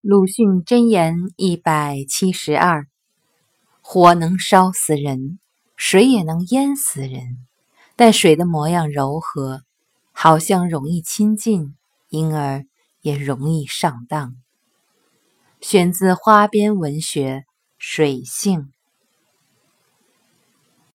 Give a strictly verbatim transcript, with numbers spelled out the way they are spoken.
鲁迅箴言一百七十二：火能烧死人，水也能淹死人，但水的模样柔和，好像容易亲近，因而也容易上当。选自花边文学《水性》。